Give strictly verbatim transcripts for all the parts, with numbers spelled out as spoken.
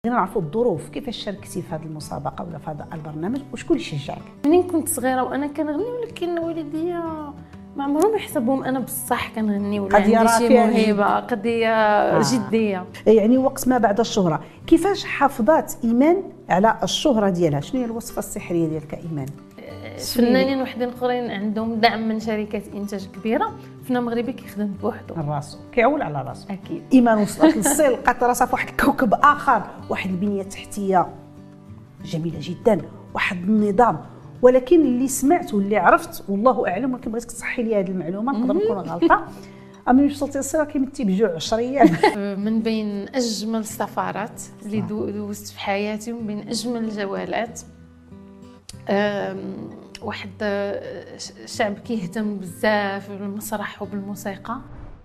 بغينا نعرفوا الظروف كيفاش شاركتي في هذه المسابقه ولا في هذا البرنامج وشكون اللي شجعك؟ منين كنت صغيره وانا كنغني، ولكن والديا ما عمرهم يحسبوهم انا بصح كنغني ولا عندي شي موهبه. قضيه آه. جديه. يعني وقت ما بعد الشهره كيفاش حافظات ايمان على الشهره ديالها؟ شنو هي الوصفه السحريه ديالك ايمان؟ فنانين وحدين اخرين عندهم دعم من شركات انتاج كبيره، فنان مغربي كيخدم بوحدو راسو كيعول على راسو. اكيد. ايمان وصلت للصيل، لقات راسها في واحد الكوكب اخر، واحد البنيه التحتيه جميله جدا، واحد النظام، ولكن اللي سمعت واللي عرفت والله اعلم، ولكن بغيتك تصحي لي هذه المعلومه، نقدر نكون غلطه. ملي وصلتي للصيل كيمتي بجوع عشريات. من بين اجمل السفرات اللي دوزت في حياتي ومن بين اجمل الجولات، واحد شعب كيهتم بزاف بالمسرح وبالموسيقى.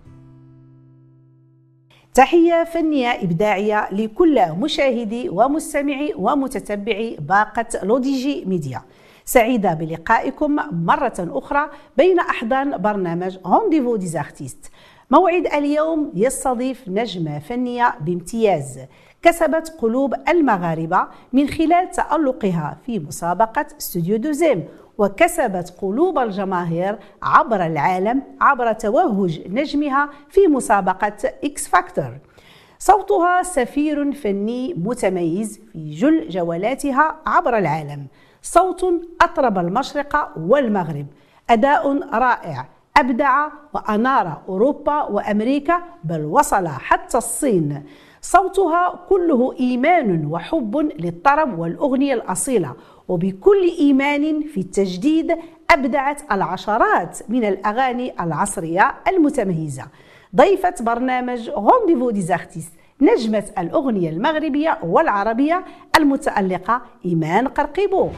تحية فنية إبداعية لكل مشاهدي ومستمعي ومتتبعي باقة لوديجي ميديا. سعيدة بلقائكم مرة أخرى بين أحضان برنامج رونديفو دي زارتيست. موعد اليوم يستضيف نجمة فنية بامتياز كسبت قلوب المغاربة من خلال تألقها في مسابقة استوديو دوزيم، وكسبت قلوب الجماهير عبر العالم عبر توهج نجمها في مسابقة إكس فاكتور. صوتها سفير فني متميز في جل جولاتها عبر العالم، صوت أطرب المشرق والمغرب، أداء رائع أبدع وأنار أوروبا وأمريكا، بل وصل حتى الصين. صوتها كله إيمان وحب للطرب والأغنية الأصيلة، وبكل إيمان في التجديد أبدعت العشرات من الأغاني العصرية المتميزة. ضيفة برنامج رونديفو دي زارتيست نجمة الأغنية المغربية والعربية المتألقة إيمان قرقيبو.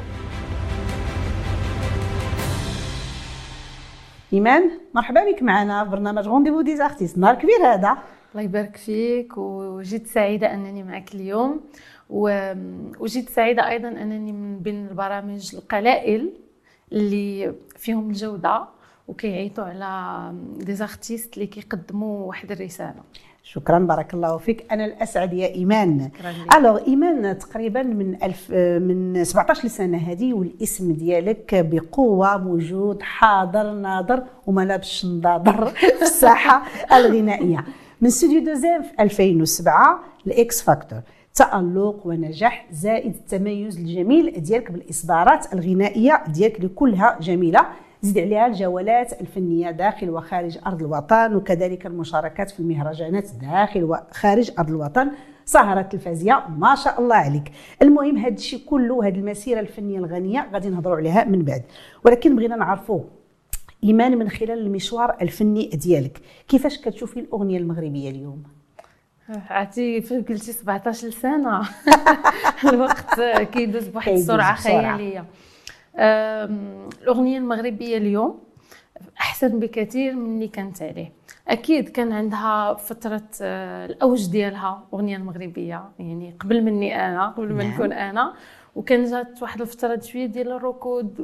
إيمان مرحبا بك معنا في برنامج رونديفو دي زارتيست. نهار كبير هذا. الله يبارك فيك، وجيت سعيدة أنني معك اليوم، وجيت سعيدة أيضا أنني من بين البرامج القلائل اللي فيهم الجودة وكيعيطوا على دي زارتيست اللي كيقدموا واحد الرسالة. شكرا بارك الله فيك. انا الاسعد يا ايمان. الوغ ايمان تقريبا من ألف من سبعطاش سنه هذه والاسم ديالك بقوه موجود حاضر ناظر وما لابش نضاضر في الساحه الغنائيه. من استوديو دوزيم في ألفين وسبعة لاكس فاكتور، تألق ونجاح زائد التميز الجميل ديالك بالاصدارات الغنائيه ديالك اللي كلها جميله، زيد عليها الجولات الفنيه داخل وخارج ارض الوطن، وكذلك المشاركات في المهرجانات داخل وخارج ارض الوطن، سهرة تلفزية، ما شاء الله عليك. المهم هذا الشيء كله، هذه المسيره الفنيه الغنيه غادي نهضروا عليها من بعد، ولكن بغينا نعرفوا ايمان من خلال المشوار الفني ديالك كيفاش كتشوفي الاغنيه المغربيه اليوم؟ عرفتي فاش قلتي سبعطاش سنه الوقت كيدوز بواحد السرعه خياليه. الأغنية المغربية اليوم أحسن بكثير من اللي كانت عليه. أكيد كان عندها فترة الأوج ديالها الأغنية المغربية، يعني قبل مني أنا، قبل ما نكون أنا، وكان جات واحد الفترة شوية ديال الركود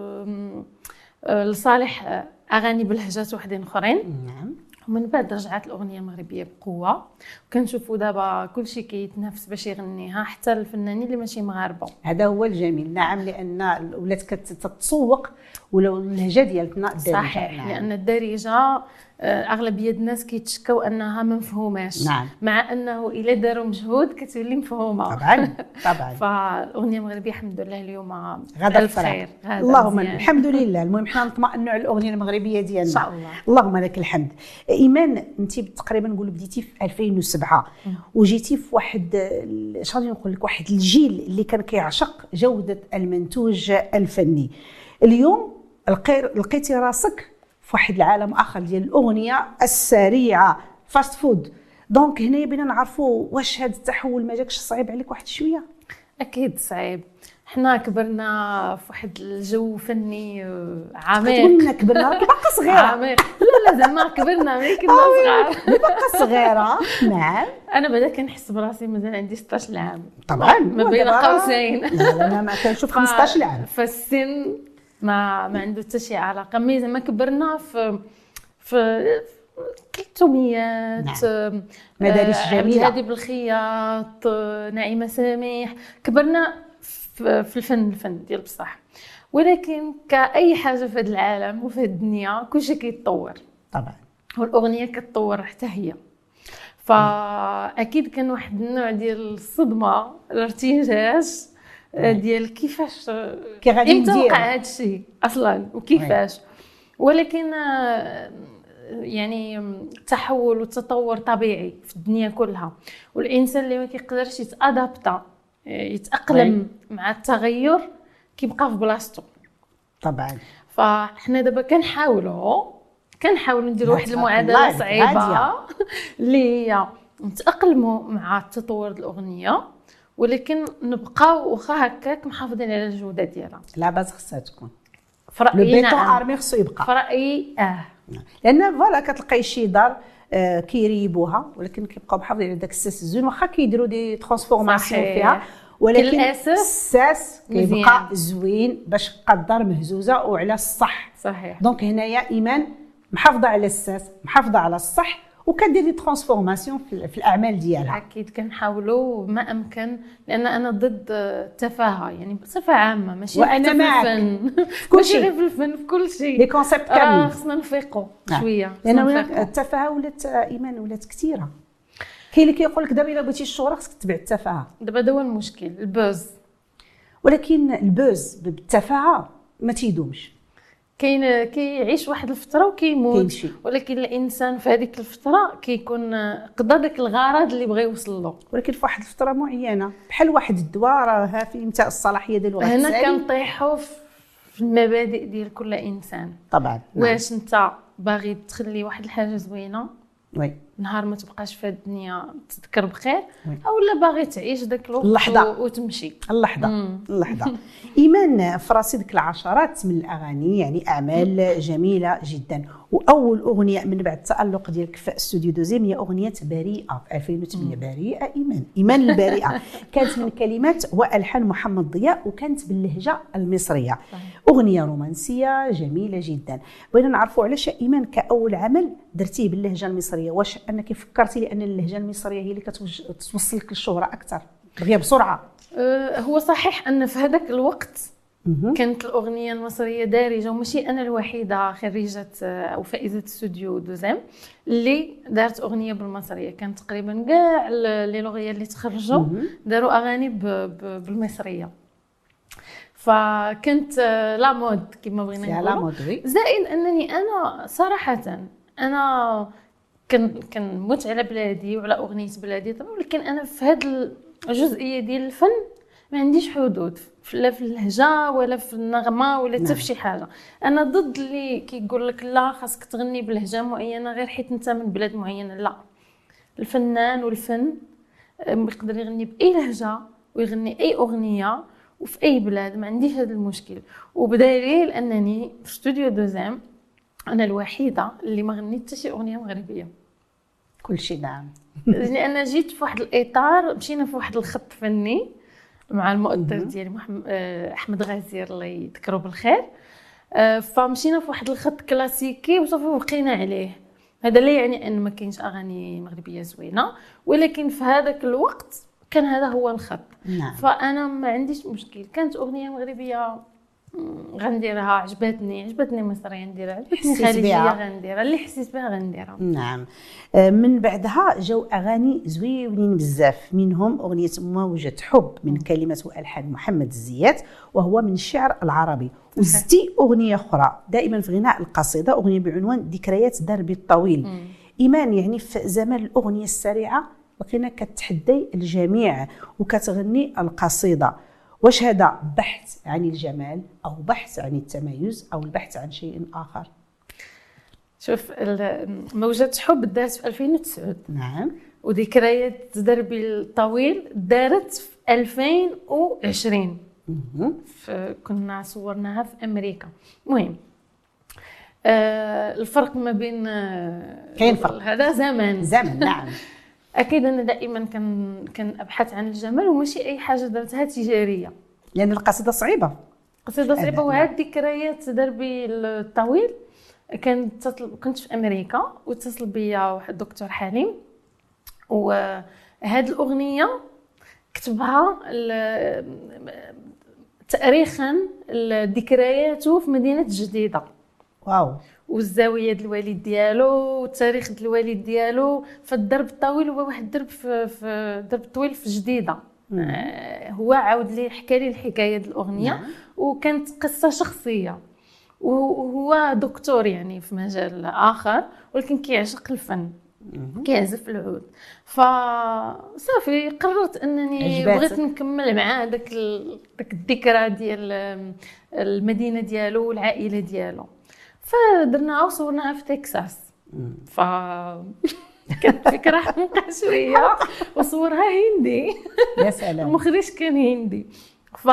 لصالح أغاني بلهجات وحدين أخرين. نعم. ومن بعد رجعت الأغنية المغربية بقوة، وكنشوفوا دابا كل شيء كيتنافس باش يغنيها، حتى الفنانين اللي ماشي مغاربه. هذا هو الجميل. نعم، لأن ولات كتتسوق ولو اللهجة ديالتنا الدارجة. صحيح. نعم. لأن الدارجة أغلبية الناس كيتشكاو أنها ما مفهوماش. نعم. مع أنه إلا داروا مجهود كتولي مفهومة. طبعا طبعا. فالأغنية المغربية الحمد لله اليوم غدا ألف خير. اللهم الحمد لله. المهم حنا نطمئنوا على الأغنية المغربية ديالنا إن شاء الله. اللهم لك الحمد. إيمان أنت تقريبا نقول بديتي في ألفين وسبعة وجيتي في واحد اش غادي نقول لك واحد الجيل اللي كان كيعشق جودة المنتوج الفني. اليوم لقيتي راسك في واحد العالم اخر ديال الاغنيه السريعه، فاست فود. دونك هنا بينا نعرفوا واش هذا التحول ما جاكش صعيب عليك واحد شويه؟ اكيد صعيب. حنا كبرنا في واحد الجو فني عميق. تقول لنا كبرنا راكي باقا صغيره. عميق. لا لا زعما كبرنا ملي كنا صغار. باقا صغيره. نعم. انا بعدا كنحس براسي مازال عندي ستطاش عام طبعا ما بين قوسين. لا لا انا ما كنشوف خمسطاش عام. فالسن ما ما عنده حتى شي علاقه، مي زعما كبرنا في في كلثوميات، نعم. مدارس آه، جميله. عبد الهادي بالخياط، آه، نعيمه سميح. كبرنا في في الفن الفن ديال بصح، ولكن كاي حاجه في هذا العالم وفي هذه الدنيا كلشي كيتطور طبعا، والاغنيه كتطور حتى هي. فاكيد كان واحد النوع ديال الصدمه، الارتجاج ديال كيفاش كي غادي امتى ندير وقع هذا الشيء اصلا وكيفاش. ولكن يعني التحول والتطور طبيعي في الدنيا كلها، والانسان اللي ما كيقدرش يتادابتا يتاقلم مع التغير كيبقى في بلاصتو. طبعا. فاحنا دابا كنحاولوا كنحاولوا نديروا واحد المعادله صعيبه اللي هي نتاقلموا مع التطور الاغنيه، ولكن نبقاو واخا هكاك محافظين على الجوده ديالها. لا باز خصها تكون في رايي. لو بيتون ارمي خصو يبقى في رايي اه لان فوالا كتلقاي شي دار آه كيريبوها ولكن كيبقاو محافظين على داك الساس الزوين، واخا كيديروا دي ترانسفورماسيون فيها، ولكن الساس كيبقى زوين باش تبقى الدار مهزوزه وعلى الصح. صحيح. دونك هنايا ايمان محافظه على الساس، محافظه على الصح، وكدير دي ترانسفورماسيون في الاعمال ديالها. اكيد كنحاولوا ما امكن، لان انا ضد التفاهه يعني بصفه عامه، ماشي وانا معك في كل شيء، في الفن في كل شيء لي كونسيبت كاملين خصنا نفيقوا شويه، لان التفاهه ولات ايمان ولات كثيره. كاين اللي كيقول لك دابا الا بغيتي الشهره خصك تتبع التفاهه. دابا هذا هو المشكل، البوز. ولكن البوز بالتفاهه ما تيدومش، كاين كيعيش واحد الفتره وكيموت، ولكن الانسان في هذيك الفتره كيكون قضى داك الغرض اللي بغى يوصل له، ولكن في واحد الفتره معينه بحال واحد الدواء راه في انتهاء الصلاحيه ديالو. هنا كنطيحوا في المبادئ ديال كل انسان. طبعا. واش انت باغي تخلي واحد الحاجه زوينه وي نهار ما تبقاش في الدنيا تذكر بخير، اولا باغي تعيش داك الوقت اللحظه وتمشي اللحظه اللحظه. ايمان في راسي ديك العشرات من الاغاني، يعني اعمال جميله جدا، واول اغنيه من بعد التالق ديالك في استوديو دوزيم هي اغنيه بريئه في ألفين وثمانية. بريئه ايمان ايمان البريئه كانت من كلمات والحان محمد ضياء، وكانت باللهجه المصريه. اغنيه رومانسيه جميله جدا. بغينا نعرفوا علاش ايمان كاول عمل درتيه باللهجه المصريه، واش انك فكرتي لان اللهجه المصريه هي اللي كتوصلك للشهره اكثر دغيا بسرعه؟ أه هو صحيح ان في هذاك الوقت كانت الاغنيه المصريه دارجه، وماشي انا الوحيده خريجه او فائزه استوديو دوزيم اللي دارت اغنيه بالمصريه. كان تقريبا كاع لي لوغيا اللي تخرجوا داروا اغاني بالمصريه، فكنت لا مود كما بغينا نقولوا. زائد انني انا صراحه انا كن كنموت على بلادي وعلى اغنيه بلادي طبعا، ولكن انا في هذه الجزئيه ديال الفن ما عنديش حدود، لا في اللهجه ولا في النغمه ولا حتى في شي حاجه. انا ضد اللي كيقول لك لا خاصك تغني بلهجه معينه غير حيت انت من بلاد معينه. لا، الفنان والفن يقدر يغني باي لهجه ويغني اي اغنيه وفي اي بلاد، ما عنديش هذا المشكل. وبدليل انني في استوديو دوزيم انا الوحيده اللي ما غنيت حتى شي اغنيه مغربيه. كل شيء نعم. يعني انا جيت في واحد الاطار، مشينا في واحد الخط فني مع المؤثر ديالي محمد احمد غزير الله يذكره بالخير، فمشينا في واحد الخط كلاسيكي وصافي وبقينا عليه. هذا لا يعني ان ما كاينش اغاني مغربيه زوينه، ولكن في هذاك الوقت كان هذا هو الخط. نعم. فانا ما عنديش مشكل، كانت اغنيه مغربيه غنديرها، عجبتني عجبتني مصريه نديرها، عجبتني خليجيه غنديرها، اللي حسيت بها غنديرها. نعم. من بعدها جاو اغاني زوينين بزاف، منهم اغنيه موجة حب من كلمات والحان محمد الزيات، وهو من الشعر العربي. وزدتي اغنيه اخرى دائما في غناء القصيده، اغنيه بعنوان ذكريات دربي الطويل. مم. ايمان يعني في زمان الاغنيه السريعه بقينا كتحدي الجميع وكتغني القصيده، واش هذا بحث عن الجمال او بحث عن التميز او البحث عن شيء اخر؟ شوف، موجة حب دارت في ألفين وتسعة. نعم. وذكريات دربي الطويل دارت في ألفين وعشرين. كنا صورناها في امريكا. المهم آه الفرق ما بين آه كاين فرق، هذا زمن زمن. نعم. اكيد انا دائما كان كان ابحث عن الجمال، وماشي اي حاجه درتها تجاريه، لان القصيده صعيبه. قصيده صعيبه. وهاد ذكريات دربي الطويل كانت تطلب، كنت في امريكا واتصل بيا واحد الدكتور حليم، وهاد الاغنيه كتبها تاريخا ذكرياته في مدينه جديده. واو. والزاويه ديال الوالد ديالو والتاريخ ديال الوالد ديالو، فالدرب الطويل هو واحد الدرب في, في درب طويل في جديده. آه هو عاود لي حكى لي الحكايه ديال الاغنيه. مم. وكانت قصه شخصيه، وهو دكتور يعني في مجال اخر ولكن كيعشق الفن، كيعزف العود. فصافي قررت انني عجباتك. بغيت نكمل معاه داك داك الذكرى ديال المدينه ديالو والعائله ديالو. فدرناها وصورناها في تكساس. ف كانت فكره حمقى شويه وصورها هندي. يا سلام. المخرج كان هندي. ف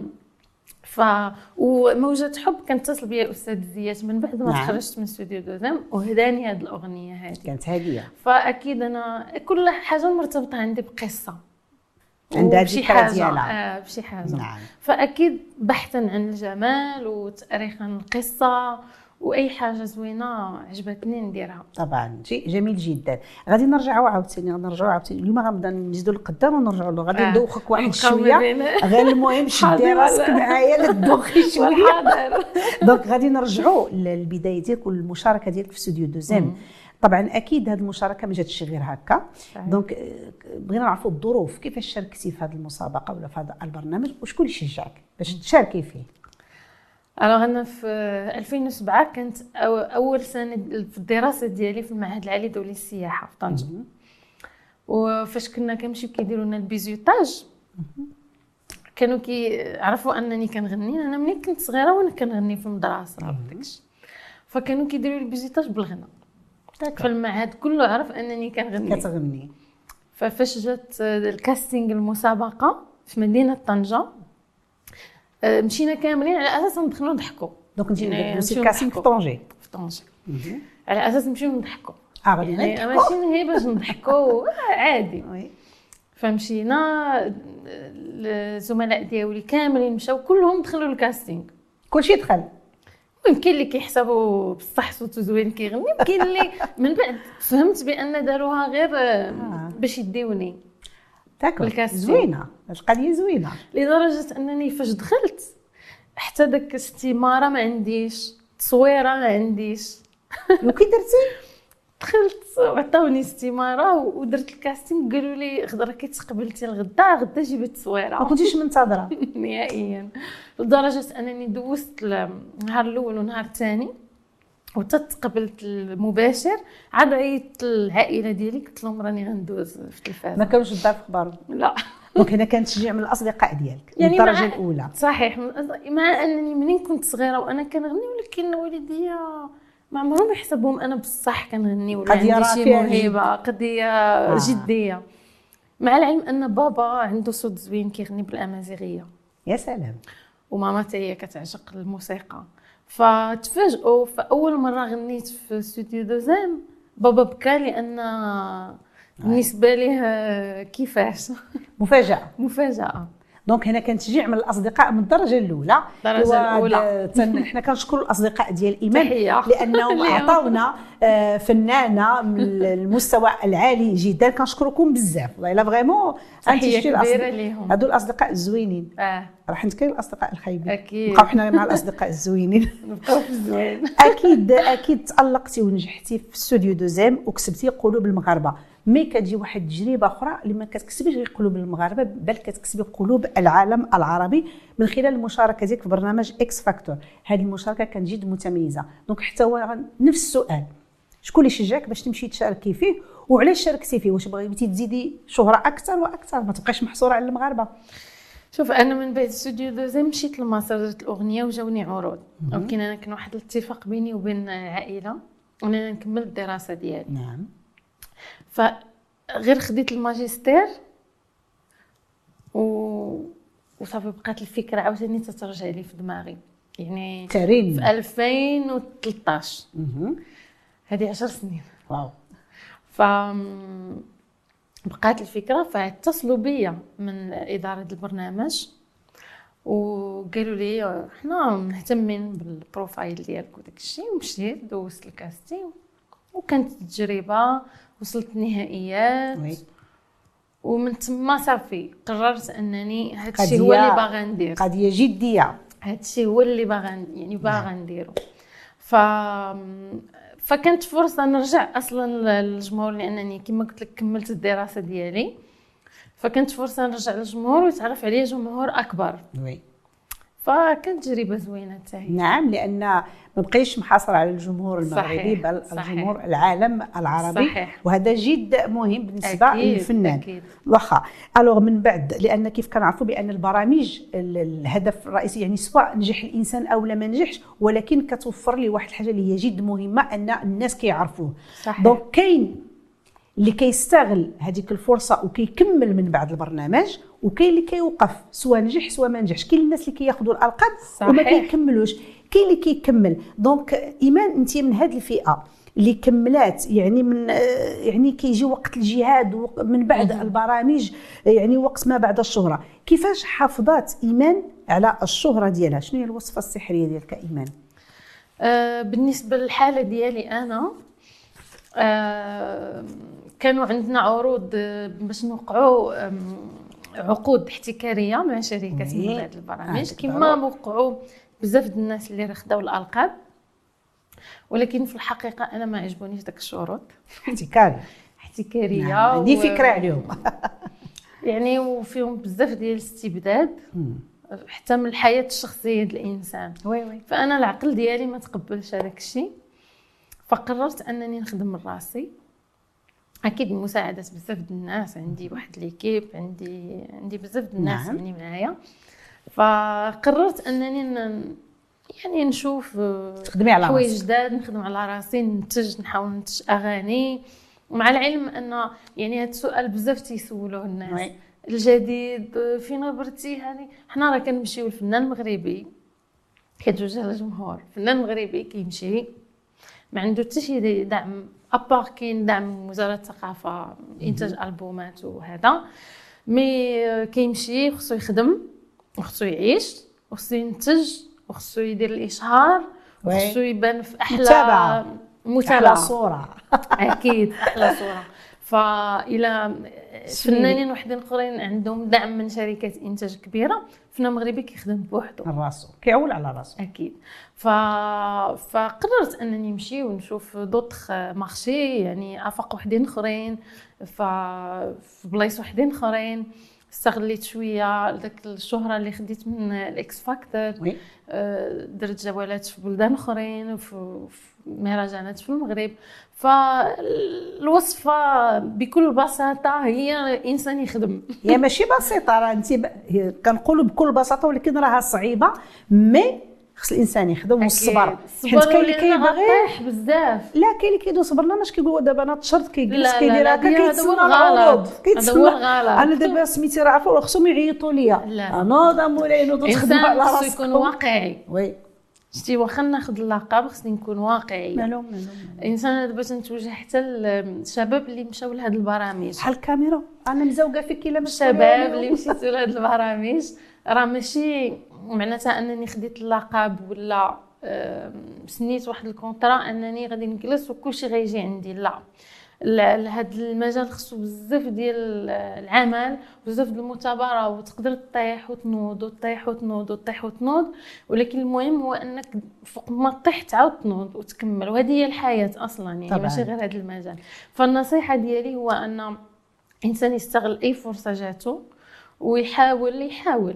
ف وموجة حب كانت تتصل بيا الاستاذ زيات من بعد ما تخرجت من استوديو دوزام وهداني هذه الاغنيه هذه. كانت هديه. فاكيد انا كل حاجه مرتبطه عندي بقصه، عندها بشي حاجه ديالها. آه بشي حاجه. نعم. فاكيد بحثا عن الجمال وتاريخا القصه واي حاجه زوينه عجبتني نديرها. طبعا شيء جميل جدا. غادي نرجعوا عاوتاني غادي نرجعوا عاوتاني اليوم غنبدا نزيدوا للقدام ونرجعوا له. غادي ندوخك واحد شويه غير المهم شدي راسك معايا لتدوخي شويه. دونك غادي نرجعوا للبدايه ديالك والمشاركه ديالك في استوديو دوزام. طبعا اكيد هذه المشاركه ما جاتش غير هكا. دونك بغينا نعرفوا الظروف كيفاش شاركتي في هذه المسابقه ولا في هذا البرنامج وشكون اللي شجعك باش تشاركي فيه؟ أنا أنا في ألفين وسبعة كانت أول سنة في الدراسة ديالي في المعهد العالي الدولي للسياحة في طنجة. وفاش كنا كنمشيو كيديروا لنا البيزيوتاج كانوا كيعرفوا أنني كنغني. أنا ملي كنت صغيرة وأنا كنغني في المدرسة داكشي، فكانوا كيديروا لي البيزيوتاج بالغناء. فالمعهد كله عرف أنني كنغني كتغني. ففاش جات الكاستينغ المسابقة في مدينة طنجة مشينا كاملين على اساس ندخلوا نضحكوا. دونك نمشيو كاسين في طنجة في طنجة على اساس نمشيو نضحكوا. اه غادي نضحكوا ماشي هي باش نضحكوا عادي. فمشينا الزملاء ديالي كاملين مشاو كلهم دخلوا الكاستينغ. كلشي دخل. يمكن اللي كيحسبوا بصح صوتو زوين كيغني، يمكن اللي من بعد فهمت بان داروها غير باش يديوني. داكور زوينه، القضيه زوينه لدرجه انني فاش دخلت حتى داك استماره ما عنديش، تصويره ما عنديش. وكي درتي؟ دخلت وعطاوني استماره ودرت الكاستينغ. قالوا لي غدا كتقبلتي الغدا غدا جيبي التصويره. ما كنتيش منتظره نهائيا، لدرجه انني دوزت النهار الاول والنهار الثاني وتتقبلت المباشر. عاد عيطت العائله ديالي قلت لهم راني غندوز في التلفاز. ما كانوش الدار في خبارهم؟ لا. دونك هنا كان تشجيع من الاصدقاء ديالك يعني من الدرجه الاولى. صحيح، مع انني منين كنت صغيره وانا كنغني، ولكن والديا ما عمرهم يحسبوهم انا بصح كنغني ولا عندي شي موهبه. قضيه جديه. مع العلم ان بابا عنده صوت زوين كيغني بالامازيغيه. يا سلام. وماما حتى هي كتعشق الموسيقى. فتفاجئوا فاول مره غنيت في استوديو دوزام بابا بكى لان بالنسبه ليه كيفاش مفاجاه مفاجاه. دونك هنا كان تشجيع من الاصدقاء من الدرجه الاولى. الدرجه الاولى حنا كنشكروا الاصدقاء ديال ايمان لانهم اعطاونا فنانه من المستوى العالي جدا. كنشكركم بزاف والله الا فريمون. تحيه كبيره ليهم هادو الاصدقاء الزوينين. اه راح نتكلم الاصدقاء الخايبين. اكيد نبقاو حنا مع الاصدقاء الزوينين. نبقاو في الزوين. اكيد اكيد تالقتي ونجحتي في استوديو دوزام وكسبتي قلوب المغاربه. مي كتجي واحد التجربه اخرى اللي ما كتكسبيش غير قلوب المغاربه بل كتكسبي قلوب العالم العربي من خلال المشاركه ديالك في برنامج اكس فاكتور. هذه المشاركه كانت جد متميزه. دونك حتى هو نفس السؤال، شكون اللي شجعك باش تمشي تشاركي فيه وعلاش شاركتي فيه؟ واش بغيتي تزيدي شهره اكثر واكثر ما تبقاش محصوره على المغاربه؟ شوف انا من بعد استوديو دوزام مشيت لمصر درت الاغنيه وجاوني عروض. ولكن انا كان واحد الاتفاق بيني وبين العائله اننا نكمل الدراسه ديالي. نعم. فغير خديت الماجستير و وصافي بقات الفكره عاوتاني تترجع لي في دماغي يعني تارين. في ألفين وثلاثطاش هذه عشر سنين. واو. ف بقات الفكره فاتصلوا بيا من اداره البرنامج وقالوا لي حنا مهتمين بالبروفايل ديالك وداك الشيء. ومشيت دوزت الكاستينغ وكانت تجربه، وصلت النهائيات وي. ومن تما صافي قررت انني هذا الشيء هو اللي باغا ندير، قضيه جديه، هذا الشيء هو اللي باغا يعني باغا نديرو. ف فكانت فرصه نرجع اصلا للجمهور، لانني كما قلت لك كملت الدراسه ديالي، فكانت فرصه نرجع للجمهور ويتعرف عليا جمهور اكبر. وي. فكانت تجربه زوينه حتى هي. نعم، لان ما بقيش محاصر على الجمهور المغربي، بل صحيح. الجمهور العالم العربي. صحيح. وهذا جد مهم بالنسبه أكيد. للفنان. واخا الوغ من بعد، لان كيف كنعرفوا بان البرامج الهدف الرئيسي يعني سواء نجح الانسان او لا ما نجحش، ولكن كتوفر لي واحد الحاجه اللي هي جد مهمه، ان الناس كيعرفوه. دونك كاين اللي كيستغل هذيك الفرصه وكيكمل من بعد البرنامج، وكاين اللي كيوقف سواء نجح سواء ما نجحش. كاين الناس اللي كياخذوا الالقاب وما كيكملوش، كاين اللي كيكمل. دونك ايمان انت من هذه الفئه اللي كملات، يعني من يعني كيجي وقت الجهاد من بعد البرامج، يعني وقت ما بعد الشهره. كيفاش حافظات ايمان على الشهره ديالها؟ شنو هي الوصفه السحريه ديالك ايمان؟ أه بالنسبه للحاله ديالي انا، أه كانوا عندنا عروض باش نوقعوا عقود احتكاريه مع شركات من بعد البرامج، كما وقعوا بزاف د الناس اللي خداو الالقاب، ولكن في الحقيقه انا ما عجبونيش داك الشروط. احتكاري احتكاريه. نعم. عندي و... فكره عليهم. يعني وفيهم بزاف ديال الاستبداد حتى من الحياه الشخصيه ديال الانسان. وي وي. فانا العقل ديالي ما تقبلش هذاك الشيء، فقررت انني نخدم من راسي، اكيد مساعده بزاف د الناس. عندي واحد ليكيب، عندي عندي بزاف د الناس نعم. يعني معايا. فقررت انني ن... يعني نشوف تخدمي على حوايج جداد، نخدم على راسي، ننتج، نحاول ننتج اغاني. ومع العلم ان يعني هذا السؤال بزاف تيسولوه الناس. وي. الجديد فين غبرتي؟ هذه حنا راه كنمشيو للفنان المغربي كتوجه للجمهور. الفنان المغربي كيمشي ما عنده حتى شي دعم ابار، كاين دعم وزاره الثقافه انتاج البومات وهذا، مي كيمشي خصو يخدم وخصو يعيش وخصو ينتج وخصو يدير الاشهار وخصو يبان في احلى متابعه متابعه احلى صوره. اكيد احلى صوره. فإلى فنانين وحدين اخرين عندهم دعم من شركات انتاج كبيره، فنان مغربي كيخدم بوحدو راسو، كيعول على راسو. اكيد. ف... فقررت انني نمشي ونشوف دوطخ مارشي، يعني افاق وحدين اخرين ف... في بلايص وحدين اخرين. استغليت شويه داك الشهره اللي خديت من الاكس فاكتور، درت جولات في بلدان اخرين وفي مهرجانات في المغرب. فالوصفه بكل بساطه هي الانسان يخدم. هي ماشي بسيطه، راه انت ب... كنقولوا بكل بساطه، ولكن راها صعيبه. مي خص الانسان يخدم والصبر، حيت كاين اللي كيبغي بزاف. لا كاين اللي كيدوز برنامج كيقول دابا انا تشرط كيجلس كيدير هكا كيتسنى العروض، كيتسنى. انا دابا سميتي راه عارفه خصهم يعيطوا ليا، انا مولاي نوض تخدم على راسك. خصو يكون واقعي. وي شتي واخا ناخذ اللقب خصني نكون واقعي. مالو مالو الانسان دابا تنتوجه حتى الشباب اللي مشاو لهاد البرامج بحال الكاميرا. انا مزوقه فيك الا مش الشباب اللي مشيتوا لهاد البرامج، راه ماشي معناتها انني خديت اللقب ولا سنيت واحد الكونطرا انني غادي نجلس وكلشي غيجي عندي. لا، لهاد المجال خصو بزاف ديال العمل بزاف ديال المثابره، وتقدر تطيح وتنوض وتطيح وتنوض وتطيح وتنوض، ولكن المهم هو انك فوق ما تطيح تعاود تنوض وتكمل. وهذه هي الحياه اصلا، يعني طبعاً. ماشي غير هذا المجال. فالنصيحه ديالي هو ان الانسان يستغل اي فرصه جاتو ويحاول يحاول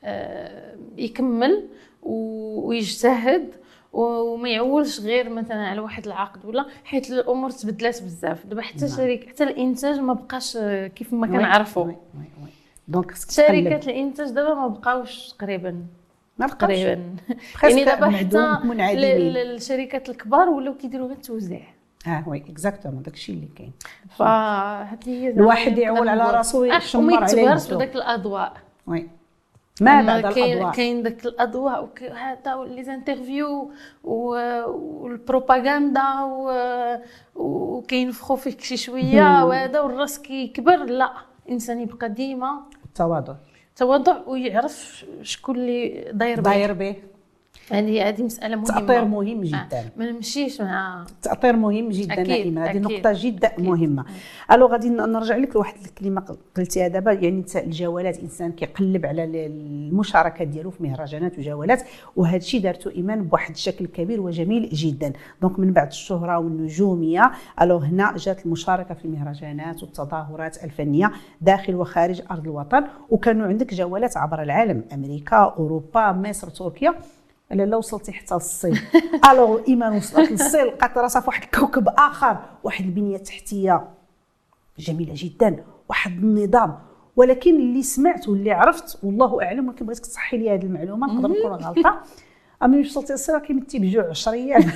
يكمل ويجتهد وما يعولش غير مثلا على واحد العقد، ولا حيت الامور تبدلات بزاف دابا. حتى شركه حتى الانتاج ما بقاش كيف ما كنعرفوا. دونك شركات الانتاج دابا ما بقاوش تقريبا ما بقاوش تقريبا يعني دابا حتى الشركات الكبار ولاو كيديروا غير التوزيع. اه وي اكزاكتومون داكشي اللي كاين. فهذه هي الواحد يعول على راسو ويشمر عليه نفسه. داك الاضواء وي ما بعد الاضواء كاين داك الاضواء وهذا لي زانترفيو والبروباغندا وكينفخوا فيك شي شويه وهذا والراس كيكبر. لا، الانسان يبقى ديما التواضع تواضع ويعرف شكون اللي داير داير به. هذه هذه مساله مهمه، تأطير مهم جدا. آه. ما نمشيش مع تأطير مهم جدا نائمه، هذه نقطه جدا أكيد. مهمه. الو غادي نرجع لك لواحد الكلمه قلتيها دابا، يعني الجولات، الانسان كيقلب على المشاركه ديالو في مهرجانات وجولات، وهذا الشيء دارته ايمان بواحد الشكل كبير وجميل جدا. دونك من بعد الشهره والنجوميه، الو هنا جات المشاركه في المهرجانات والتظاهرات الفنيه داخل وخارج ارض الوطن، وكانوا عندك جولات عبر العالم، امريكا، اوروبا، مصر، تركيا، لا وصلتي حتى للصين. الو ايمان وصلت للصين، لقات راسها في واحد الكوكب اخر، واحد البنيه التحتيه جميله جدا، واحد النظام. ولكن اللي سمعت واللي عرفت والله اعلم، ولكن بغيتك تصحي لي هذه المعلومه، نقدر نكون غلطه، اما ملي وصلتي للصين كيمتي بجوع عشر ايام.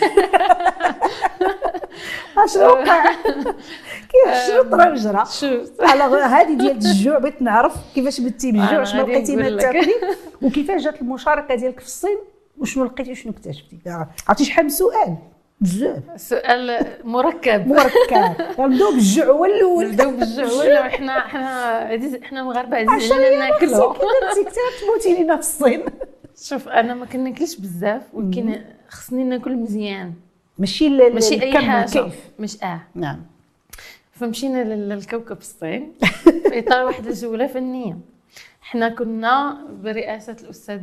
اشنو وقع؟ كيف شنو طرا وجرى؟ على هذه ديال الجوع بغيت نعرف كيفاش بتي بجوع، شنو لقيتي ما تاكلي، وكيفاش جات المشاركه ديالك في الصين، وشنو لقيتي وشنو اكتشفتي؟ عرفتي شحال من سؤال؟ بزاف سؤال مركب مركب. نبداو بالجوع هو الاول، نبداو بالجوع هو الاول. حنا حنا حنا المغاربه عزيز علينا ناكلوا. كي درتي كثر تموتي لينا في الصين. شوف انا ما كناكلش بزاف، ولكن خصني ناكل مزيان، ماشي ماشي اي حاجه كيف. مش اه نعم. فمشينا للكوكب الصين في اطار واحد الجوله فنيه. حنا كنا برئاسه الاستاذ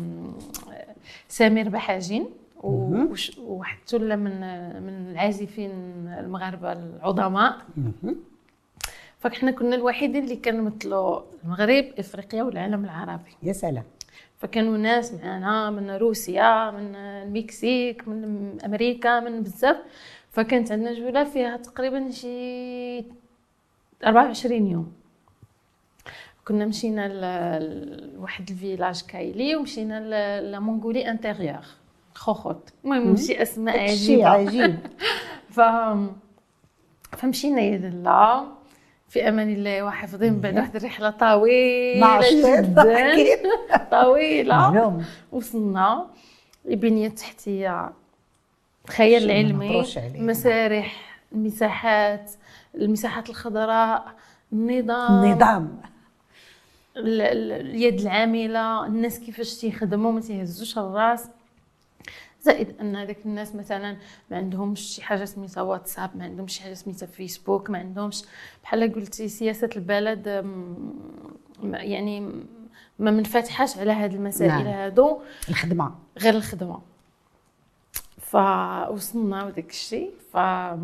سمير بحاجين وواحد ثله من من العازفين المغاربه العظماء. فاحنا كنا الوحيدين اللي كنمثلوا المغرب، افريقيا والعالم العربي. يا سلام. فكانوا ناس معنا من روسيا، من المكسيك، من امريكا، من بزاف. فكانت عندنا جوله فيها تقريبا شي أربعة وعشرين يوم. كنا مشينا لواحد الفيلاج كايلي، ومشينا لمونغولي انتيريور خوخوت، المهم ماشي اسماء عجيبه عجيب. ف فمشينا يلا في امان الله وحافظين بعد واحد الرحله طويله جدا طويله. وصلنا البنيه التحتيه، الخيال العلمي، مسارح، المساحات، المساحات الخضراء، النظام النظام اليد العامله، الناس كيفاش تيخدموا ما تيهزوش الراس. زائد ان هذاك الناس مثلا ما عندهمش شي حاجه سميتها واتساب، ما عندهمش شي حاجه سميتها فيسبوك، ما عندهمش بحال قلتي سياسه البلد، يعني ما منفتحاش على هذه المسائل. نعم. هادو الخدمه غير الخدمه. فوصلنا وداك الشيء. ف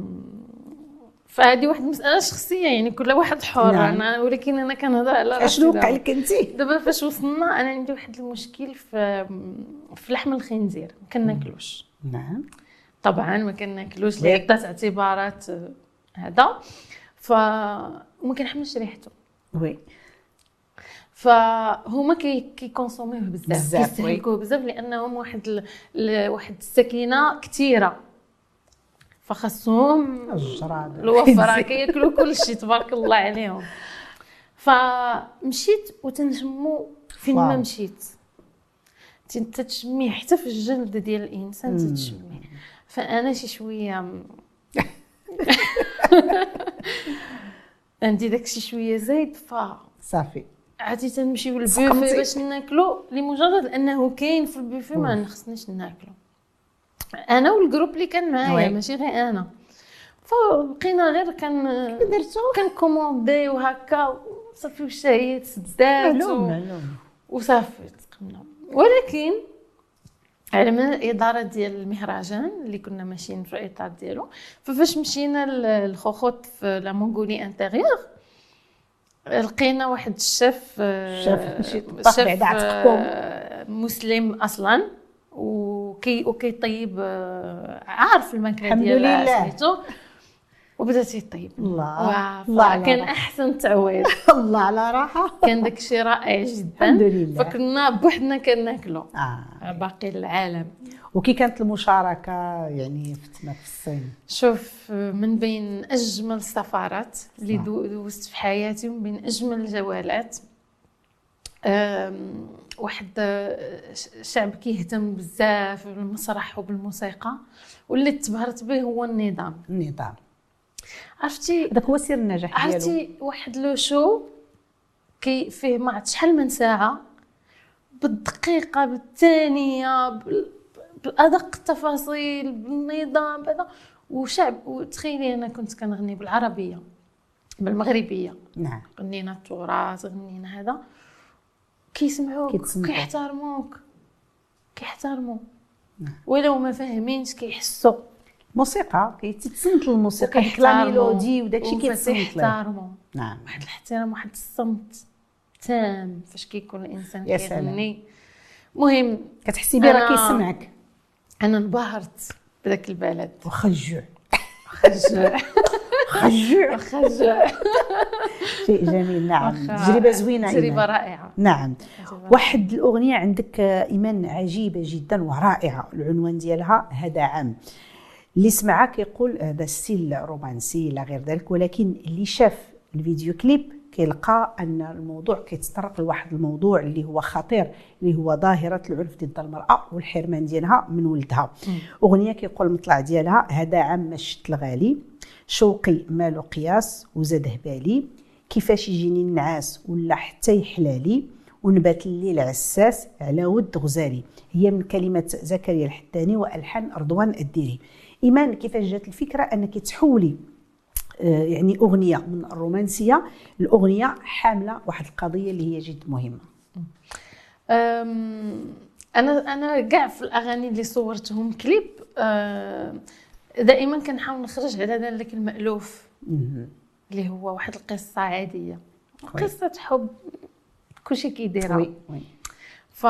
فهذه واحد المساله شخصيه، يعني كل واحد حر. نعم. انا ولكن انا كنهضر على راسي. اشنو وقع لك انت دابا فاش وصلنا؟ انا عندي واحد المشكل في في لحم الخنزير، ما كناكلوش. نعم طبعا ما كناكلوش لعده اعتبارات هذا. ف وما كنحملش ريحته. وي. فهما كي كيكونسوميوه بزاف، كيستهلكوه بزاف، لانهم واحد ال... ل... واحد السكينه كثيره، فخصهم الوفره كياكلوا كل شيء تبارك الله عليهم. فمشيت وتنجمو فين ما مشيت تتشميه، حتى في الجلد ديال الانسان تتشميه. فانا شي شويه عندي داكشي شويه زايد، ف صافي عادي تنمشيو للبوفي باش ناكلو لمجرد انه كاين في البوفي، ما نخصنيش ناكلو انا والجروب اللي كان معايا، ماشي غير انا. فلقينا غير كان درتو كان كوموندي وهكا صافي، والشاي سدات و... وصافي تقمنا. ولكن على من الاداره ديال المهرجان اللي كنا ماشيين في الاطار ديالو، ففاش مشينا للخوخوت في لا مونغولي انتيريور، لقينا واحد الشيف شيف بعد عتقكم مسلم اصلا، وكي وكيطيب عارف الماكله ديال سميتو، وبدا تيطيب. الله الله كان احسن تعويض. الله على راحه، كان داكشي رائع جدا. الحمد لله. فكنا بوحدنا كناكلو آه. باقي العالم. وكي كانت المشاركه يعني في الصين؟ شوف، من بين اجمل السفارات اللي دوزت في حياتي، ومن بين اجمل الجولات، واحد شعب كيهتم بزاف بالمسرح وبالموسيقى، واللي تبهرت به هو النظام. النظام عرفتي داك هو سر النجاح ديالو. عرفتي واحد لو شو كي فيه ما عرفت شحال من ساعه بالدقيقه بالثانيه بادق التفاصيل بالنظام هذا وشعب. وتخيلي انا كنت كنغني بالعربيه بالمغربيه. نعم. غنينا التراث غنينا هذا كيسمعوك كيحترموك كيحترموا نعم. ولو ما فاهمينش كيحسوا. موسيقى كيتسنت الموسيقى ديك لا ميلودي وداكشي كيتسنت له. كيحترموا. نعم. واحد الاحترام واحد الصمت تام فاش كيكون الانسان كيغني. المهم كتحسي بيه راه كيسمعك. انا انبهرت بداك البلد. واخا الجوع خجوع خجوع خجوع شيء جميل. نعم. تجربه زوينه. تجربه رائعه. نعم. واحد الاغنيه عندك ايمان عجيبه جدا ورائعه، العنوان ديالها هذا عام. اللي سمعها كيقول هذا ستيل رومانسي لا غير ذلك، ولكن اللي شاف الفيديو كليب كيلقى ان الموضوع كيتطرق لواحد الموضوع اللي هو خطير، اللي هو ظاهره العنف ضد المراه والحرمان ديالها من ولدها. م. اغنيه كيقول المطلع ديالها هذا عام ما شت الغالي، شوقي مالو قياس وزاد هبالي، كيفاش يجيني النعاس ولا حتى يحلالي، ونبات الليل عساس على ود غزالي. هي من كلمات زكريا الحداني والحان رضوان الديري. ايمان، كيفاش جات الفكره انك تحولي آه يعني اغنيه من الرومانسيه الاغنيه حامله واحد القضيه اللي هي جد مهمه؟ انا انا كاع في الاغاني اللي صورتهم كليب دائما كنحاول نخرج على ذلك المألوف اللي هو واحد القصه عاديه، قصه حب كلشي كيديرها. وي وي. ف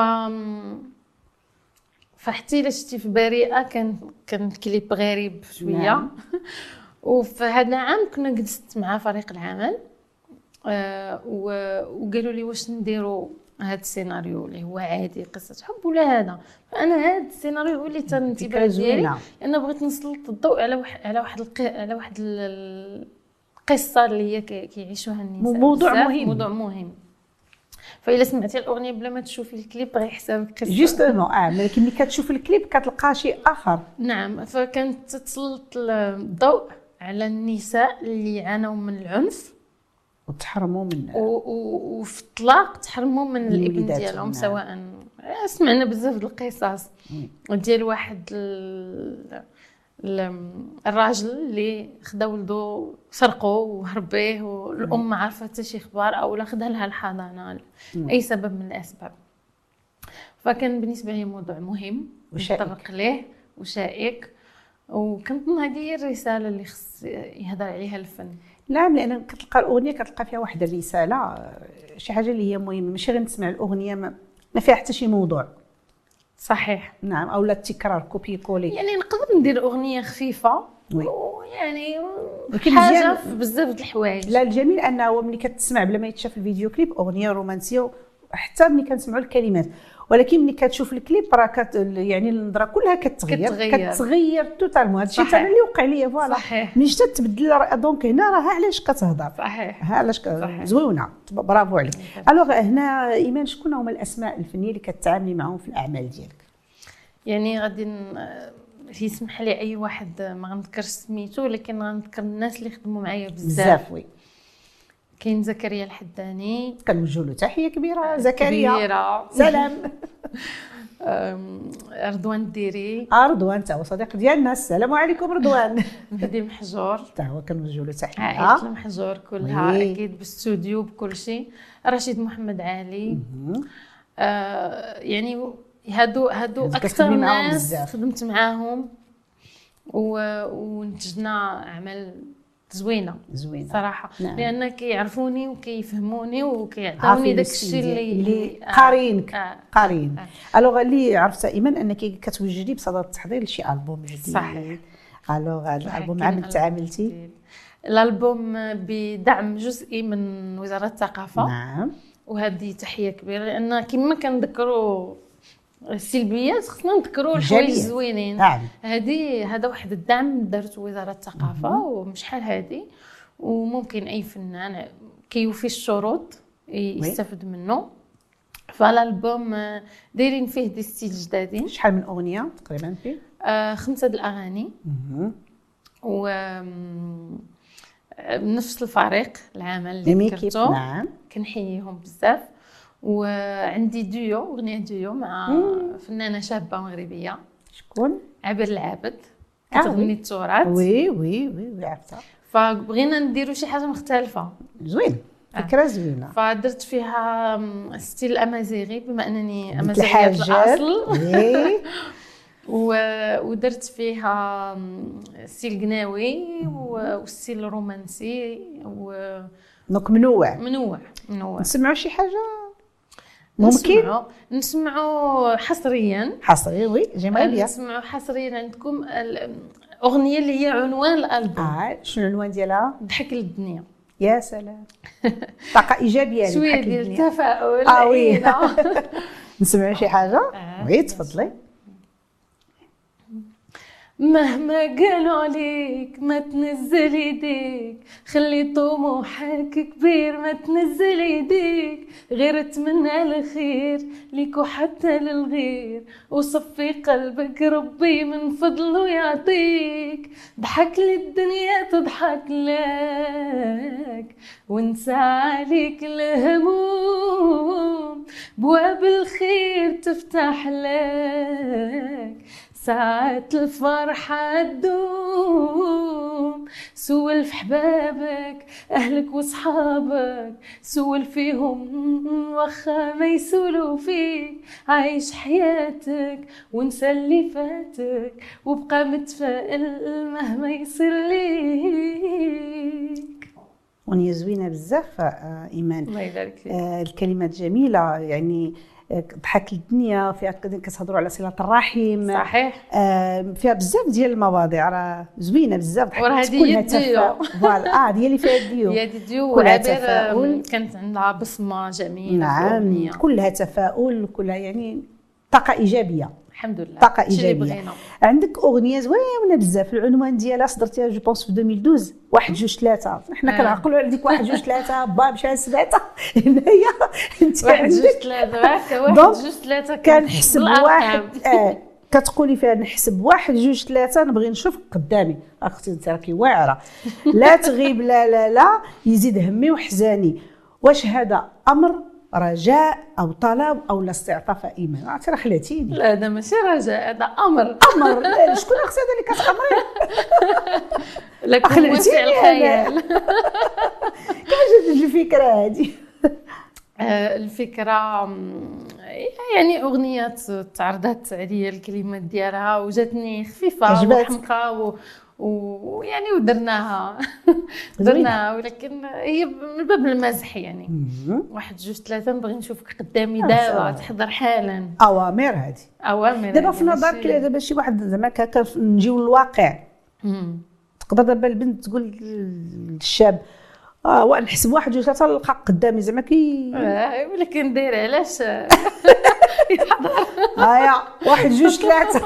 فحتى الا شتي في بريئه كان كان الكليب غريب شويه. نعم. وفي هذا العام كنا جلست مع فريق العمل آه وقالوا لي واش نديروا هذا السيناريو اللي هو عادي قصه حب ولا هذا. فانا هذا السيناريو هو اللي تم الانتباه ديالي، لان بغيت نسلط الضوء على واحد على واحد الق... على واحد القصه اللي هي كيعيشوها النساء. موضوع مهم. موضوع مهم. فإلا سمعتي الاغنيه بلا ما تشوفي الكليب غيحسب قصه جوستومون. اه ملي ملي كتشوف الكليب كتلقى شيء اخر. نعم. فكانت تسلط الضوء على النساء اللي عانوا من العنف وتحرموا من وفي الطلاق تحرموا من الابن ديالهم. نعم. سواء سمعنا بزاف د القصص ديال واحد ال... الراجل اللي خدا ولدو سرقوه وهرب به والام ما عارفه حتى شي اخبار او لا خدها لها الحضانه اي سبب من الاسباب. فكان بالنسبه لي موضوع مهم نتطرق ليه وشائك، وكنظن هذه هي الرساله اللي خص يهضر عليها الفن. نعم، لان كتلقى الاغنيه كتلقى فيها واحد الرساله، شي حاجه اللي هي مهمه، ماشي غير نسمع الاغنيه ما, ما فيها حتى شي موضوع. صحيح. نعم. او لا التكرار كوبي كولي. يعني نقدر ندير اغنيه خفيفه ويعني حاجه في بزاف د الحوايج. لا، الجميل انه ملي كتسمع بلا ما يتشاف الفيديو كليب اغنيه رومانسيه حتى ملي كنسمعوا الكلمات، ولكن ملي كتشوف الكليب راه كت يعني النظره كلها كتغير كتغير, كتغير توتالمون. هادشي حتى اللي وقع لي فوالا. ملي جات تبدل دونك هنا راه علاش كتهضر. صحيح. ها علاش زوينه. برافو عليك. الوغ هنا ايمان، شكون هما الاسماء الفنيه اللي كتعاملي معهم في الاعمال ديالك؟ يعني غادي يسمح لي اي واحد ما غنذكرش سميتو، ولكن غنذكر الناس اللي خدموا معايا بزاف. وي. كاين زكريا الحداني، كنوجهوا له تحيه كبيره. زكريا كبيره. سلام. رضوان الديري. اه رضوان تا هو صديق ديالنا. السلام عليكم رضوان. مهدي محجور تا هو كنوجهوا له تحيه. عائله المحجور كلها. وي. اكيد باستوديو بكل شيء. رشيد محمد علي. آه يعني هادو هادو اكثر ناس خدمت معاهم ونتجنا اعمال زوينه زوينه صراحه. نعم. لان كيعرفوني وكيفهموني وكيعطوني داك الشيء اللي اللي قارينك. آه. قارين. آه. الوغ اللي عرفت ايمان انك كتوجدي بصدد التحضير لشي البوم جديد. صحيح. الوغ هذا الالبوم عامل تعاملتي الالبوم بدعم جزئي من وزاره الثقافه. نعم. وهذه تحيه كبيره، لان كما كنذكروا السلبيات خصنا نذكروا الحوايج الزوينين. نعم. هذه هذا واحد الدعم دارت وزاره الثقافه ومشحال هذه، وممكن اي فنان كيوفي الشروط يستفد منه. فالالبوم دايرين فيه دي ستيل جدادين. شحال من اغنيه تقريبا فيه؟ آه خمسه د الاغاني. و بنفس الفريق العمل اللي ذكرته. نعم. كنحييهم بزاف. وعندي ديو اغنيه ديو مع مم. فنانه شابه مغربيه. شكون؟ عبير العابد، كتغني التراث. وي وي وي وي عرفتها. فبغينا نديروا شي حاجه مختلفه. زوين، فكره زوينه. فدرت فيها ستيل امازيغي بما انني امازيغيه الاصل. ودرت فيها ستيل قناوي وستيل رومانسي و دونك منوع منوع منوع. نسمعوا شي حاجه ممكن نسمعوا نسمعوا حصريا حصريا. وي جميل بيان. نسمعوا حصريا عندكم الاغنيه اللي هي عنوان الالبوم. اه شنو العنوان ديالها؟ ضحك للدنيا. يا سلام، طاقه ايجابيه. شويه ديال التفاؤل. اه وي نسمعوا شي حاجه. آه. وي تفضلي. مهما قالوا عليك ما تنزل يديك، خلي طموحك كبير ما تنزل يديك، غير اتمنى الخير ليك وحتى للغير، وصفي قلبك ربي من فضله يعطيك، ضحك للدنيا تضحك لك وانسى عليك الهموم، بواب الخير تفتح لك، ساعات الفرحة تدوم، سول في حبابك أهلك وصحابك، سول فيهم وخا ما يسولوا فيك، عايش حياتك وانسى اللي فاتك، وبقى متفائل مهما يصير ليك. أغنية زوينة بزاف إيمان. الله يبارك فيك. آه الكلمات جميلة، يعني ضحك الدنيا، فيها كتهضروا على صله الرحم. صحيح. آه فيها بزاف ديال المواضيع راه زوينه بزاف. ضحك كلها تفاؤل. فوالا اه دي اللي فيها الديو. هي ديو وعبير كانت عندها بصمه جميله. نعم كلها تفاؤل، كلها يعني طاقه ايجابيه. الحمد لله. طاقه ايجابيه. عندك اغنيه زوينه بزاف، العنوان ديالها صدرتيها جو بونس في ألفين واثناشر، واحد جوج ثلاثة. حنا كنعقلوا على ديك واحد جوج ثلاثة، با مشى لسبعة. هنايا انت واحد جوج ثلاثة، واحد جوج ثلاثة كنحسب واحد. اه كتقولي فيها نحسب واحد جوج ثلاثة، نبغي نشوف قدامي. اختي انت راكي واعره، لا تغيب لا لا لا يزيد همي وحزاني، واش هذا امر رجاء او طلب او لا استعطاف ايمان؟ عرفتي راه خلاتيني. لا هذا ماشي رجاء، هذا امر. امر. شكون اختي هذا اللي كتامري؟ لكن واسع الخيال. كيفاش جات الفكره هذه؟ الفكره يعني اغنيه تعرضت عليا الكلمات ديالها وجاتني خفيفه وحمقى ويعني ودرناها درناها، ولكن هي من باب المزح يعني. واحد جوج ثلاثة نبغي نشوفك قدامي دابا، تحضر حالا. اوامر هذه اوامر دابا في نظرك. دابا شي واحد زعما هكا نجيو للواقع، تقدر دابا البنت تقول للشاب اه ونحسب واحد جوج ثلاثة نلقى قدامي زعما كي اه، ولكن داير علاش يحضر هايا واحد جوج ثلاثة.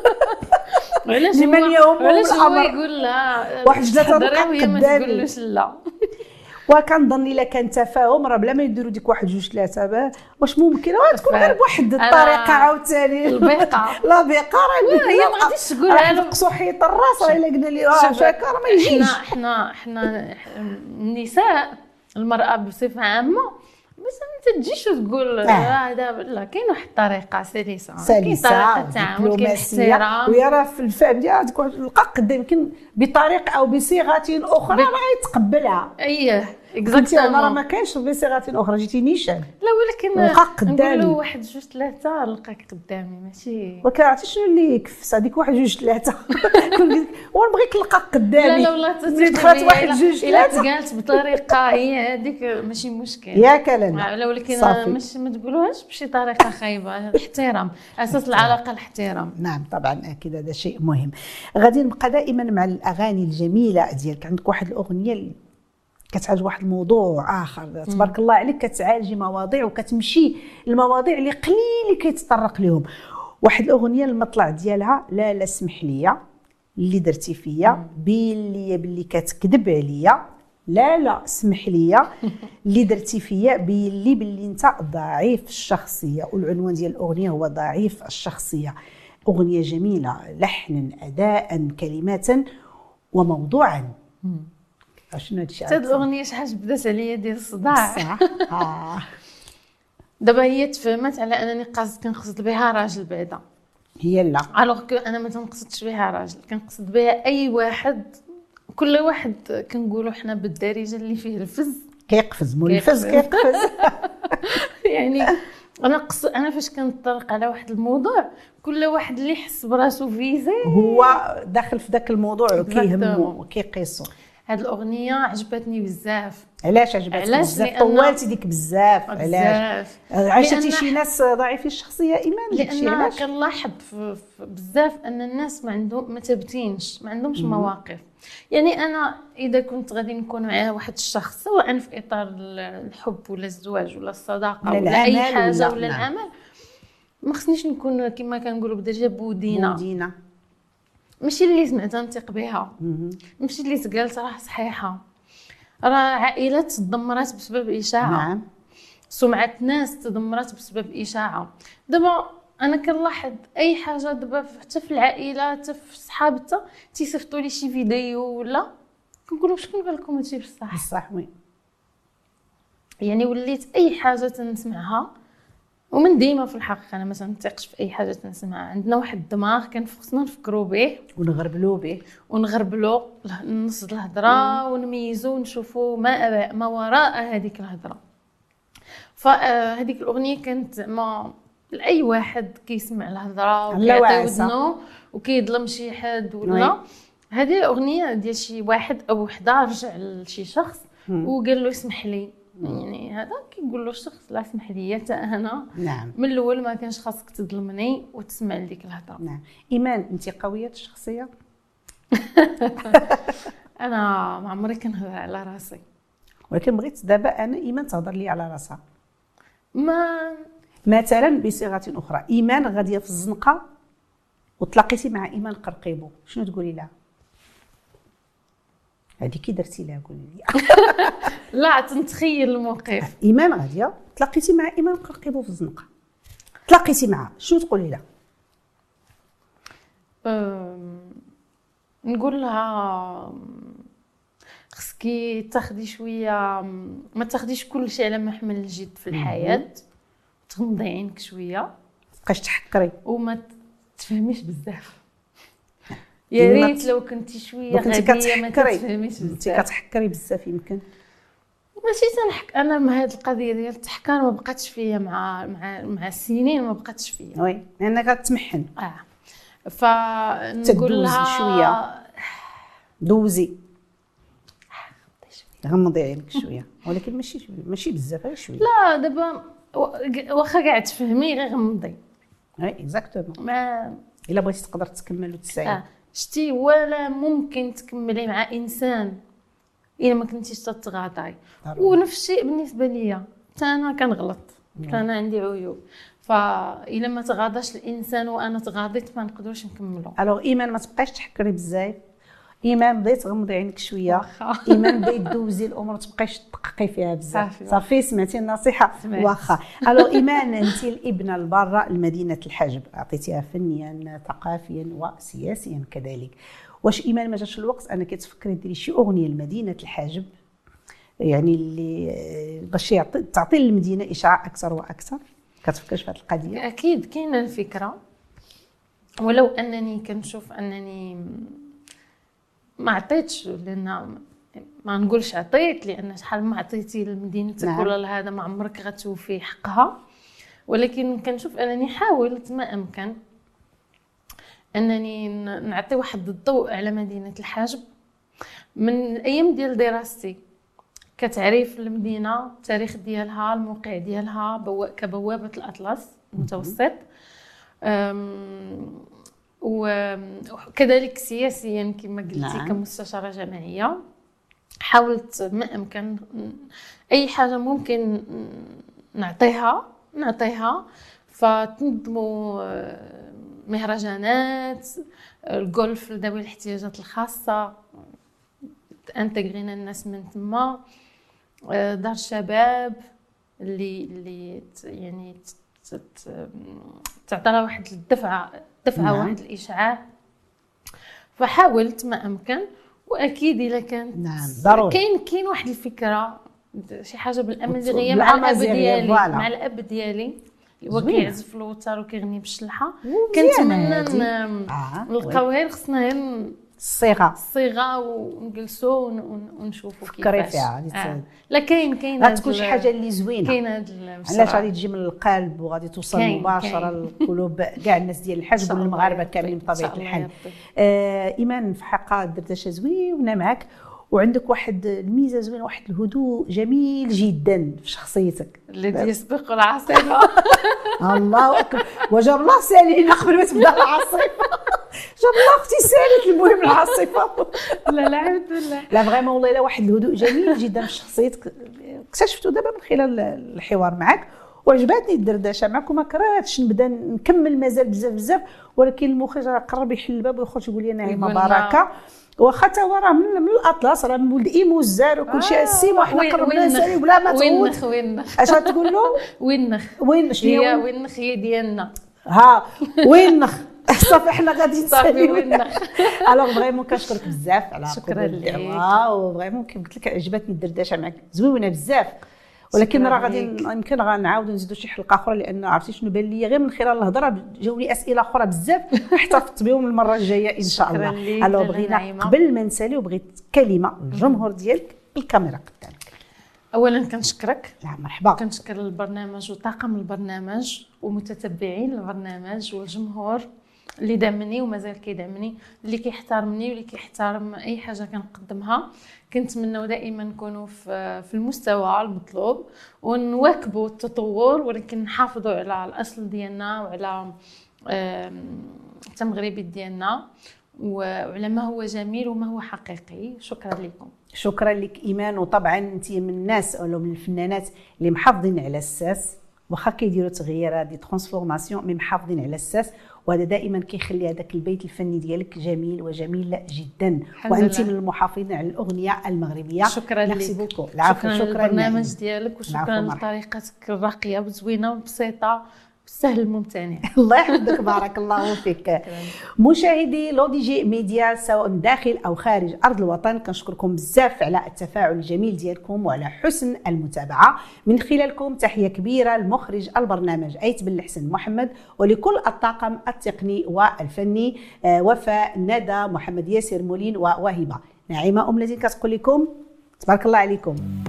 علاش هو علاش هو يقول لا واحد جوج ثلاثة نلقى قدامي ما تقولوش لا. وكنظن الا كان تفاهم راه بلا ما يديروا ديك واحد جوج ثلاثة، واش ممكن تكون غير بواحد الطريقه عاوتاني البيقه. لا بيقه راه هي ما غاديش تقولها له نقصوا حيط الراس. راه الا قلنا لي اه شاكا راه ما يجيش. حنا حنا النساء المراه بصفه عامه بس ما تجيش وتقول هذا. لا كاين واحد الطريقه سلسه، كاين طريقه تعامل، كاين احترام. ويا راه في الفهم ديالها تلقى قدام يمكن بطريقه او بصيغه اخرى راه غيتقبلها. اييه اكزاكتومون. راه ما كاينش بصيغه اخرى، جيتي نيشان. لا ولكن نقولوا واحد جوج ثلاثه نلقاك قدامي ماشي. وكعرفتي شنو اللي يكفس هذيك واحد جوج ثلاثه. ونبغيك نلقاك قدامي. لا لا والله دخلت واحد جوج ثلاثه الا تقالت بطريقه هي هذيك ماشي مشكل ياك لا. لا ولكن مش ما تقولوهاش بشي طريقه خايبه. الاحترام اساس العلاقه، الاحترام. نعم طبعا اكيد هذا شيء مهم. غادي نبقى دائما مع الاغاني الجميله ديالك. عندك واحد الاغنيه اللي كتعالج واحد الموضوع اخر تبارك الله عليك، كتعالجي مواضيع وكتمشي المواضيع اللي قليل كيتطرق لهم. واحد الاغنيه المطلع ديالها لا لا اسمح لي اللي درتي فيا، بين لي باللي كتكذب عليا، لا لا اسمح لي اللي درتي فيا، بين لي باللي انت ضعيف الشخصيه. والعنوان ديال الاغنيه هو ضعيف الشخصيه. اغنيه جميله لحنا اداء كلمات وموضوعا. شنو هادشي؟ هاد الاغنيه شحال بدات عليا ديال الصداع صح. اه دابا هي تفهمت على انني قاصد كنقصد بها راجل بعدا، هي لا الوغ كو انا ما تنقصدش بها راجل، كنقصد بها اي واحد. كل واحد كنقولوا حنا بالدارجه اللي فيه الفز كيقفز، مول الفز كيقفز. يعني انا قص... انا فاش كنطرق على واحد الموضوع كل واحد اللي يحس براسو فيزي هو داخل في ذاك الموضوع وكيهمو وكيقيسو. هاد الاغنيه عجبتني بزاف. علاش عجبتك بزاف؟ طولتي ديك بزاف علاش؟ عاشتي شي ناس ضعيفين الشخصيه ايمان؟ لان علاش كنلاحظ بزاف ان الناس ما عندهم ما ثابتينش، ما عندهمش مواقف. يعني انا اذا كنت غادي نكون مع واحد الشخص سواء في اطار الحب ولا الزواج ولا الصداقه ولا, ولا اي حاجه ولا, ولا العمل، ما خصنيش نكون كما كنقولوا بدرجه بودينه بودينه ماشي اللي سمعتها نثق بها، ماشي اللي تقالت راه صحيحه. راه عائلات تدمرات بسبب اشاعه، نعم. سمعه ناس تدمرت بسبب اشاعه. دابا انا كنلاحظ اي حاجه دابا حتى في العائله حتى في الصحاب حتى تيصيفطوا لي شي فيديو ولا كنقولوا شكون قال لكم هادشي بصح بصح وي. يعني وليت اي حاجه تنسمعها، ومن ديما في الحقيقه انا ما تنثقش في اي حاجه تنسمعها. عندنا واحد الدماغ كان خصنا نفكروا به ونغربلوا به ونغربلوا نص الهضره ونميزوا ونشوفوا ما ما وراء هذيك الهضره. فهذيك الاغنيه كانت ما لاي واحد كيسمع الهضره وكيعطي ودنو وكيظلم شي حد ولا. هذه اغنيه ديال شي واحد او وحده رجع لشي شخص وقال له اسمح لي. يعني هذا كيقول له الشخص لا اسمح لي حتى انا، نعم. من الاول ما كانش خاصك تظلمني وتسمع لديك الهضره. نعم. ايمان انت قويه الشخصيه؟ انا ما عمري كنهضر على راسي، ولكن بغيت دابا انا ايمان تهضر لي على راسها. ما مثلا بصيغه اخرى، ايمان غاديه في الزنقه وتلاقيتي مع ايمان قرقيبو، شنو تقولي لها؟ هذه كي درتي لها قولي لي. لا تنتخيل الموقف. ايمان غاديه تلاقيتي مع ايمان قرقيبو في الزنقه، تلاقيتي معها، شنو تقولي لها؟ نقول لها خصكي تاخدي شويه، ما تاخديش كل شيء على محمل الجد في الحياه، تغمضي عينك شويه، تبقاش تحكري وما تفهميش بزاف. يا ريت لو كنتي شويه غبيه ما تفهميش بزاف. انت كتحكري بزاف يمكن. ماشي تنحك انا من هذه القضيه ديال التحكار ما بقاتش فيا مع مع مع السنين، ما بقاتش فيا. وي لانك كتمحن. اه فنقول لها شويه دوزي غمضي عينك شويه، ولكن ماشي ماشي بزاف، غير شويه. لا دابا واخا كاع تفهمي غير غمضي. وي اكزاكتومون. ما الا بغيتي تقدر تكمل وتسعي. آه. شتي ولا ممكن تكملي مع انسان الا ما كنتيش تتغاضاي. ونفس الشيء بالنسبه ليا، حتى انا كنغلط، حتى انا عندي عيوب، فالا ما تغاضاش الانسان وانا تغاضيت ما نقدروش نكملوا. الوغ ايمان ما تبقايش تحكري بزاف، ايمان بديت تغمضي عينك شويه، ايمان بديت دوزي الامور، ما تبقايش تدققي فيها بزاف. صافي سمعتي النصيحه؟ واخا. الوغ ايمان انت الابنه الباره لمدينه الحجب، اعطيتيها فنيا ثقافيا وسياسيا كذلك. واش ايمان ما جاش الوقت انك تفكري ديري شي اغنيه لمدينه الحجب، يعني اللي باش تعطي للمدينه اشعاع اكثر واكثر؟ كتفكرش في هذه القضيه؟ اكيد كاينه الفكره، ولو انني كنشوف انني ما عطيتش، لان ما نقولش عطيت لان شحال ما عطيتي لمدينتك. نعم. ولا لهذا ما عمرك غتوفي حقها، ولكن كنشوف انني حاولت ما امكن انني نعطي واحد الضوء على مدينه الحجب من الايام ديال دراستي، كتعريف المدينه، التاريخ ديالها، الموقع ديالها، بو... كبوابه الاطلس المتوسط، وكذلك سياسيا كما قلتي. نعم. كمستشاره جامعيه حاولت ما امكن اي حاجه ممكن نعطيها نعطيها فتنظموا مهرجانات الجولف لذوي الاحتياجات الخاصه، انتغرينا الناس من تما، دار الشباب اللي اللي يعني تعطي لها واحد الدفعه دفعه. نعم. واحد الاشعاع. فحاولت ما امكن، واكيد الا كانت نعم ضروري كاين كاين واحد الفكره شي حاجه بالامازيغيه بال- مع الاب بالأمازيغية، ديالي فوالا. مع الاب ديالي هو زوينة. كيعزف الوتر وكيغني بالشلحه ومزيانة كنتمنى هادي. ن- آه، نلقاو غير خصنا غير الصيغه الصيغه ونجلسوا ون- ون- ونشوفوا فكري كيفاش فيها غادي آه. ت- لا كاين كاين هاد غتكون شي ال- حاجه اللي زوينه، كاين هاد علاش غادي تجي من القلب وغادي توصل كاين- مباشره كاين. للقلوب كاع الناس ديال الحجب شاء الله والمغاربه يا ربي، كاملين إن بطبيعه شاء الله الحال. يا ربي. آه ايمان في حلقه دردشه زوينه معك، وعندك واحد الميزه زوينه، واحد الهدوء جميل جدا في شخصيتك. الذي يسبق العاصفه الله اكبر، وجاب الله سالينا قبل ما تبدا العاصفه. جاب الله اختي سالت المهم العاصفه. لا لا الحمد لله. لا فريمون والله، لا واحد الهدوء جميل جدا في شخصيتك اكتشفته دابا من خلال الحوار معك، وعجباتني الدردشه معك، وما كرهتش نبدا نكمل مازال بزاف بزاف، ولكن المخرج راه قرب يحل الباب ويخرج يقول لي نعيمه يقول لنا- بركه، واخا تا هو راه من, من الاطلس، راه من ولد ايمو الزار وكل شيء السيم، وحنا وين- قربنا وين نسالي بلا ما وين تعود. نخ وين نخ اش غتقول له؟ وين نخ وين شنو هي هي وين نخ هي ديالنا ها وين نخ صافي حنا غادي صافي نسالي وين نخ. الوغ فريمون كنشكرك بزاف على شكراً قبول ليك. الدعوه، وفريمون كيف قلت لك عجبتني الدردشه معك زوينه بزاف، ولكن شكراً راه غادي ليك. يمكن غنعاودوا نزيدوا شي حلقه اخرى، لان عرفتي شنو بان لي غير من خلال الهضره جاوني اسئله اخرى بزاف احتفظت بهم المره الجايه ان شاء شكراً الله. ليك الوغ لاله بغينا نعيمة. قبل ما نساليو بغيت كلمه الجمهور ديالك بالكاميرا قدامك. اولا كنشكرك، نعم مرحبا. كنشكر البرنامج وطاقم البرنامج ومتتبعين البرنامج والجمهور اللي دعمني ومازال كيدعمني، اللي كيحترمني واللي كيحترم اي حاجه كنقدمها. كنتمنوا دائما نكونوا في في المستوى المطلوب ونواكبوا التطور، ولكن نحافظوا على الاصل ديالنا وعلى آم، التمغربي ديالنا وعلى ما هو جميل وما هو حقيقي. شكرا لكم. شكرا لك ايمان، وطبعا انت من الناس او من الفنانات اللي محافظين على الساس، واخا كيديروا تغييرات دي ترانسفورماسيون مي محافظين على الساس، وهذا دائما كيخلي هذاك البيت الفني ديالك جميل وجميل جدا، وانت لله. من المحافظين على الاغنيه المغربيه. شكرا لك. ميرسي بوكو. العفو. شكرا شكرا للبرنامج نعيم. ديالك، وشكرا العفو، مرحبا. لطريقتك الراقيه وزوينه وبسيطه وسهل الممتنع. الله يحفظك، بارك الله فيك. مشاهدي لو دي جي ميديا سواء داخل او خارج ارض الوطن، كنشكركم بزاف على التفاعل الجميل ديالكم وعلى حسن المتابعه. من خلالكم تحيه كبيره لمخرج البرنامج ايت بن الحسن محمد، ولكل الطاقم التقني والفني وفاء، ندى، محمد ياسر، مولين، ووهبه. نعيمه ام الذين كتقول لكم تبارك الله عليكم.